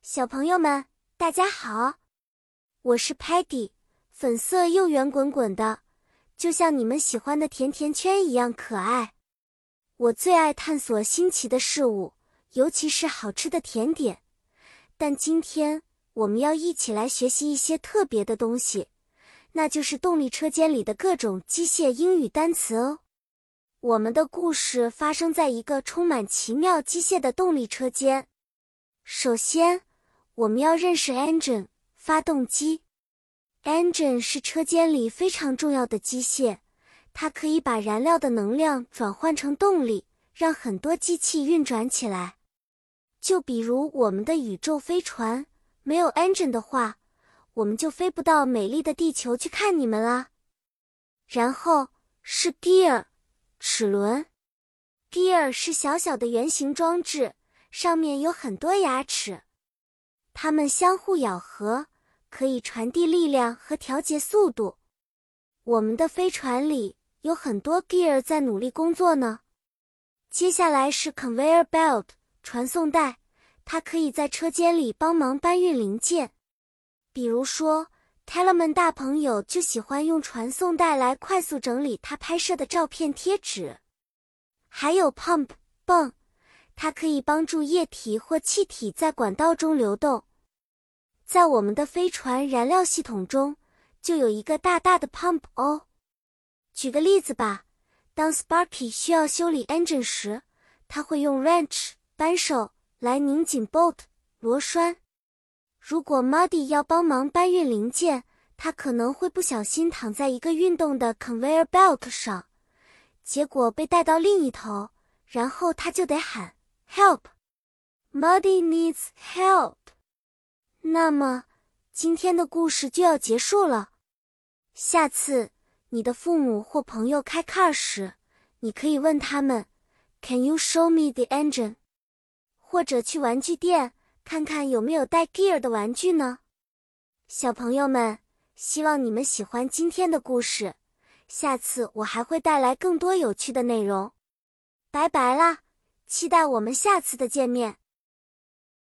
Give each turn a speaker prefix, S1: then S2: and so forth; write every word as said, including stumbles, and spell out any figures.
S1: 小朋友们，大家好，我是 Patty， 粉色又圆滚滚的，就像你们喜欢的甜甜圈一样可爱。我最爱探索新奇的事物，尤其是好吃的甜点。但今天我们要一起来学习一些特别的东西，那就是动力车间里的各种机械英语单词哦。我们的故事发生在一个充满奇妙机械的动力车间。首先，我们要认识 engine 发动机。engine 是车间里非常重要的机械，它可以把燃料的能量转换成动力，让很多机器运转起来。就比如我们的宇宙飞船，没有 engine 的话，我们就飞不到美丽的地球去看你们啦。然后是 gear 齿轮。gear 是小小的圆形装置，上面有很多牙齿。它们相互咬合，可以传递力量和调节速度。我们的飞船里有很多 gear 在努力工作呢。接下来是 conveyor belt 传送带，它可以在车间里帮忙搬运零件。比如说 Telemann 大朋友就喜欢用传送带来快速整理他拍摄的照片贴纸。还有 pump 泵，它可以帮助液体或气体在管道中流动。在我们的飞船燃料系统中，就有一个大大的 pump 哦。举个例子吧，当 Sparky 需要修理 engine 时，他会用 wrench 扳手来拧紧 bolt 螺栓。如果 Muddy 要帮忙搬运零件，他可能会不小心躺在一个运动的 conveyor belt 上，结果被带到另一头，然后他就得喊 Help! Muddy needs help! 那么，今天的故事就要结束了。下次，你的父母或朋友开 car 时，你可以问他们 Can you show me the engine? 或者去玩具店，看看有没有带 gear 的玩具呢？小朋友们，希望你们喜欢今天的故事。下次我还会带来更多有趣的内容。拜拜啦，期待我们下次的见面。